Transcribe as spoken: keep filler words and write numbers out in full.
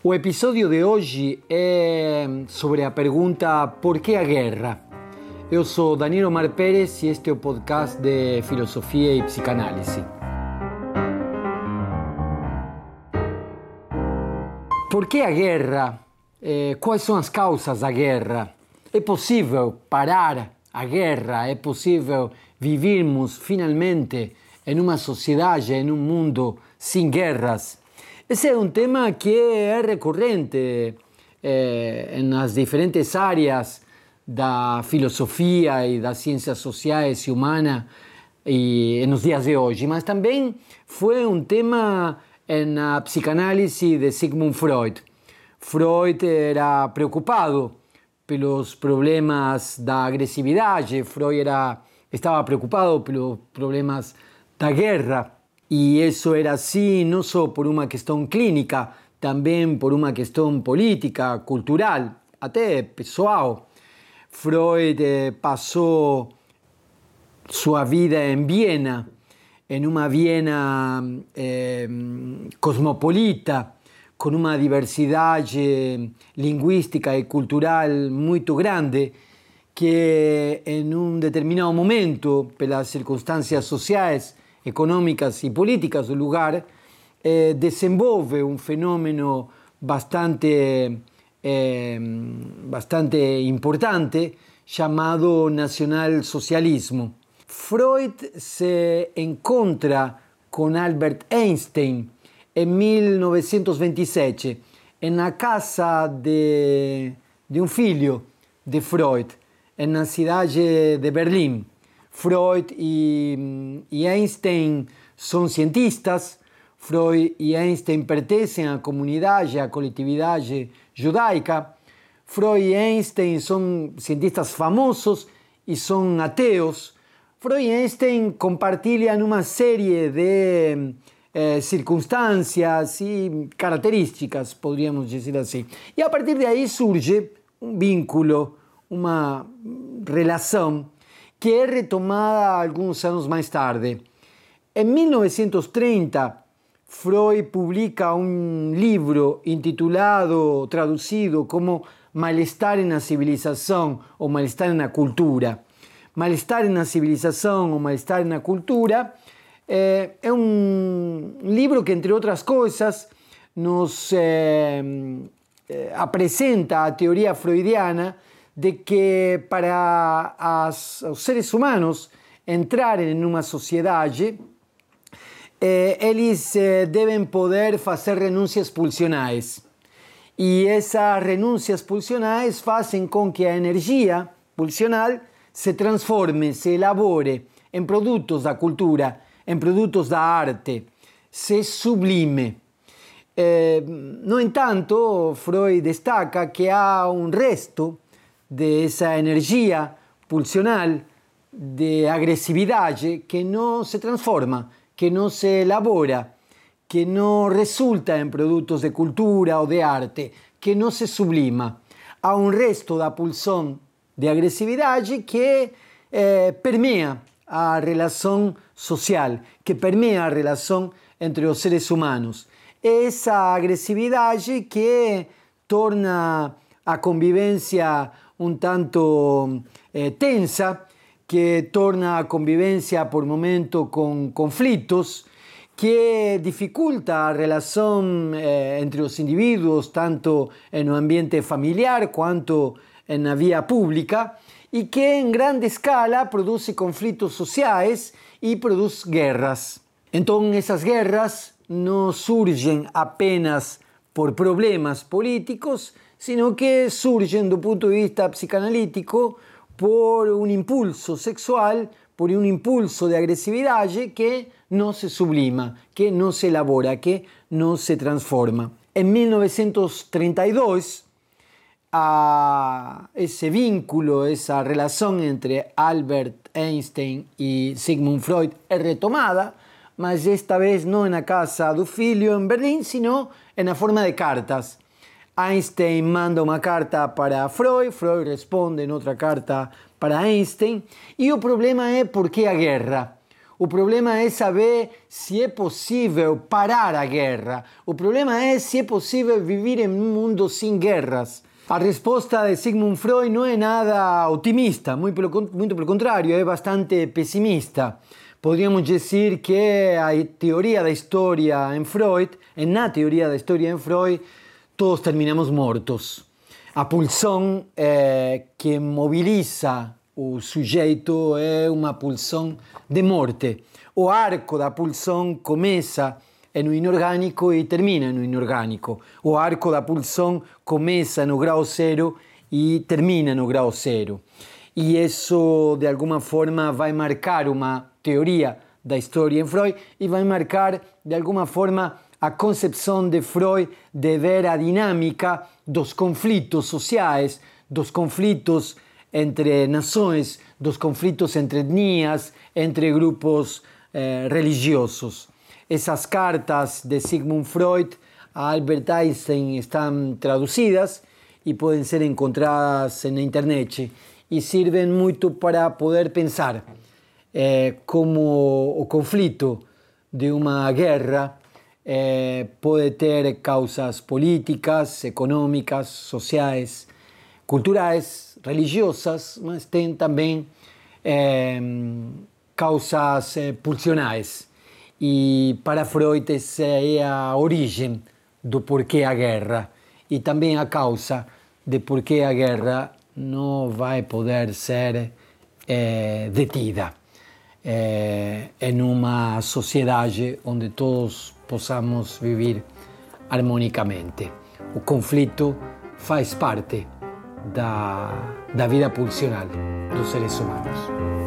O episódio de hoje é sobre a pergunta por que a guerra? Eu sou Danilo Omar Pérez e este é o podcast de Filosofia e Psicanálise. Por que a guerra? Eh, quais são as causas da guerra? É possível parar a guerra? É possível vivermos finalmente em uma sociedade, em um mundo sem guerras? Esse é um tema que é recorrente eh, nas diferentes áreas da filosofia e das ciências sociais e humanas e nos dias de hoje, mas também foi um tema na psicanálise de Sigmund Freud. Freud era preocupado pelos problemas da agressividade, Freud era, estava preocupado pelos problemas da guerra. E isso era assim não só por uma questão clínica, também por uma questão política, cultural, até pessoal. Freud eh, passou sua vida em Viena, em uma Viena eh, cosmopolita, com uma diversidade linguística e cultural muito grande, que em um determinado momento, pelas circunstâncias sociais, econômicas e políticas do lugar, eh, desenvolve um fenômeno bastante, eh, bastante importante chamado nacionalsocialismo. Freud se encontra com Albert Einstein em mil novecentos e vinte e sete na casa de, de um filho de Freud, na cidade de Berlim. Freud e, e Einstein são cientistas. Freud e Einstein pertencem à comunidade, à coletividade judaica. Freud e Einstein são cientistas famosos e são ateus. Freud e Einstein compartilham uma série de eh, circunstâncias e características, poderíamos dizer assim. E a partir daí surge um vínculo, uma relação que é retomada alguns anos mais tarde. Em mil novecentos e trinta, Freud publica um livro intitulado, traduzido como Mal-estar na civilização ou Mal-estar na cultura. Mal-estar na civilização ou Mal-estar na cultura é, é um livro que, entre outras coisas, nos é, é, apresenta a teoria freudiana de que para as, os seres humanos entrarem em uma sociedade, eh, eles eh, devem poder fazer renúncias pulsionais. E essas renúncias pulsionais fazem com que a energia pulsional se transforme, se elabore em produtos da cultura, em produtos da arte, se sublime. Eh, no entanto, Freud destaca que há um resto de essa energia pulsional de agressividade que não se transforma, que não se elabora, que não resulta em produtos de cultura ou de arte, que não se sublima. Há um resto da pulsão de agressividade que eh, permeia a relação social, que permeia a relação entre os seres humanos. Essa agressividade que torna a convivência um tanto eh, tensa, que torna a convivência por momento com conflitos, que dificulta a relação eh, entre os indivíduos, tanto no ambiente familiar quanto na via pública, e que em grande escala produz conflitos sociais e produz guerras. Então, essas guerras não surgem apenas por problemas políticos, sino que surgen do ponto de vista psicanalítico por um impulso sexual, por um impulso de agressividade que não se sublima, que não se elabora, que não se transforma. Em mil novecentos e trinta e dois, a esse vínculo, essa relação entre Albert Einstein e Sigmund Freud é retomada, mas esta vez não na casa do filho em Berlim, sino na forma de cartas. Einstein manda uma carta para Freud, Freud responde em outra carta para Einstein, e o problema é por que a guerra? O problema é saber se é possível parar a guerra. O problema é se é possível viver em um mundo sem guerras. A resposta de Sigmund Freud não é nada otimista, muito pelo, muito pelo contrário, é bastante pessimista. Podríamos dizer que a teoria da história em Freud, na teoria da história em Freud, todos terminamos mortos. A pulsão eh, que mobiliza o sujeito é uma pulsão de morte. O arco da pulsão começa no inorgânico e termina no inorgânico. O arco da pulsão começa no grau zero e termina no grau zero. E isso, de alguma forma, vai marcar uma teoria da história em Freud e vai marcar, de alguma forma, a concepção de Freud de ver a dinâmica dos conflitos sociais, dos conflitos entre nações, dos conflitos entre etnias, entre grupos eh, religiosos. Essas cartas de Sigmund Freud a Albert Einstein estão traduzidas e podem ser encontradas na internet e servem muito para poder pensar eh, como o conflito de uma guerra eh, pode ter causas políticas, econômicas, sociais, culturais, religiosas, mas tem também eh, causas eh, pulsionais. E para Freud essa é a origem do porquê a guerra e também a causa de porquê a guerra não vai poder ser eh, detida eh, em uma sociedade onde todos possamos viver harmonicamente. O conflito faz parte da, da vida pulsional dos seres humanos.